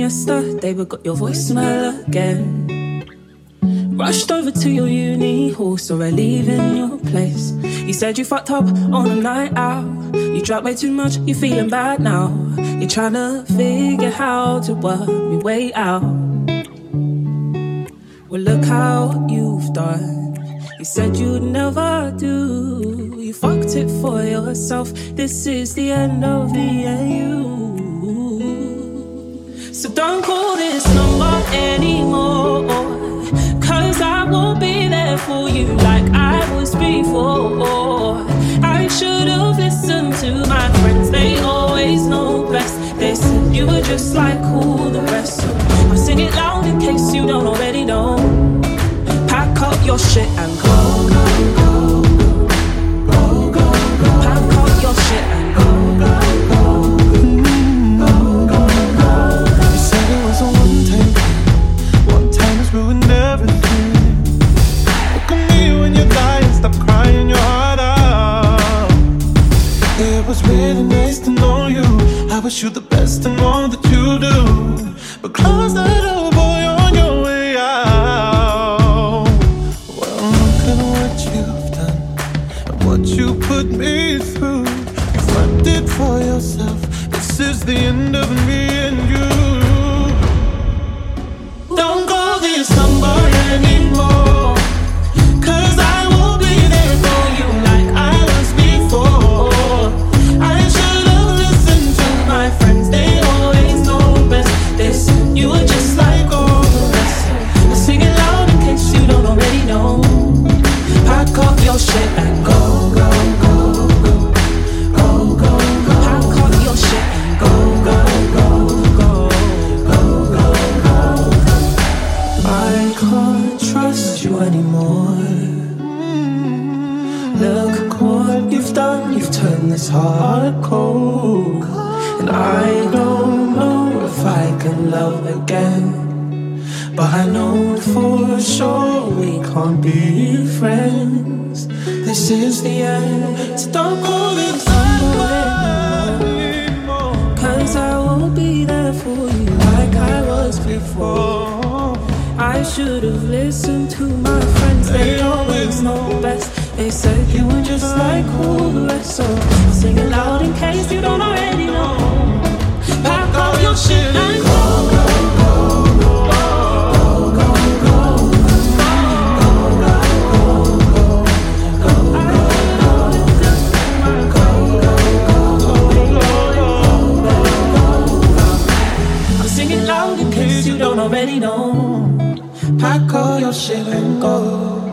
yesterday, but got your voicemail again. Rushed over to your uni hall, saw her leaving your place. You said you fucked up on a night out. You drank way too much, you feeling bad now. You're trying to figure how to work me way out. Well, look how you've done. You said you'd never do. You fucked it for yourself. This is the end of the AU. So don't call this number anymore, 'cause I won't be there for you like I was before. I should've listened to my friends, they always know best. They said you were just like all the rest. So I'll sing it loud in case you don't already know. Pack up your shit and go, go, go, go, go, go, go. Pack up your shit and go, go, go, go, go, go. You said it was a one time has ruined everything. Look at me when you're dying, stop crying your heart out. It was really nice to know you. I wish you the best in all that you do, but close that door, boy, on your way out. Well, look at what you've done and what you put me through. You flipped it for yourself. This is the end of me and you. Don't call this number anymore, 'cause I will be there for you like I was before. I should've listened to my friends, they always know best. They said you were just like all the rest. I sing it loud in case you don't already know. Pack up your shit and go, go, go, go, go, go, go. Pack up your shit and go, go, go, go, go, go, go. I can't trust you anymore. Look what you've done, you've turned this heart cold. And I don't know if I can love again, but I know for sure we can't be friends. This is the end, so don't call it number anymore, 'cause I will be there for you like I was before. I should've listened to my friends, they always know best. They said you were just like all the rest. So I'll sing it loud in case you don't already know. Pack all your shit and go, go, go, go, go, go, go, I'll sing it loud in case you don't already know. Pack all your shit and go.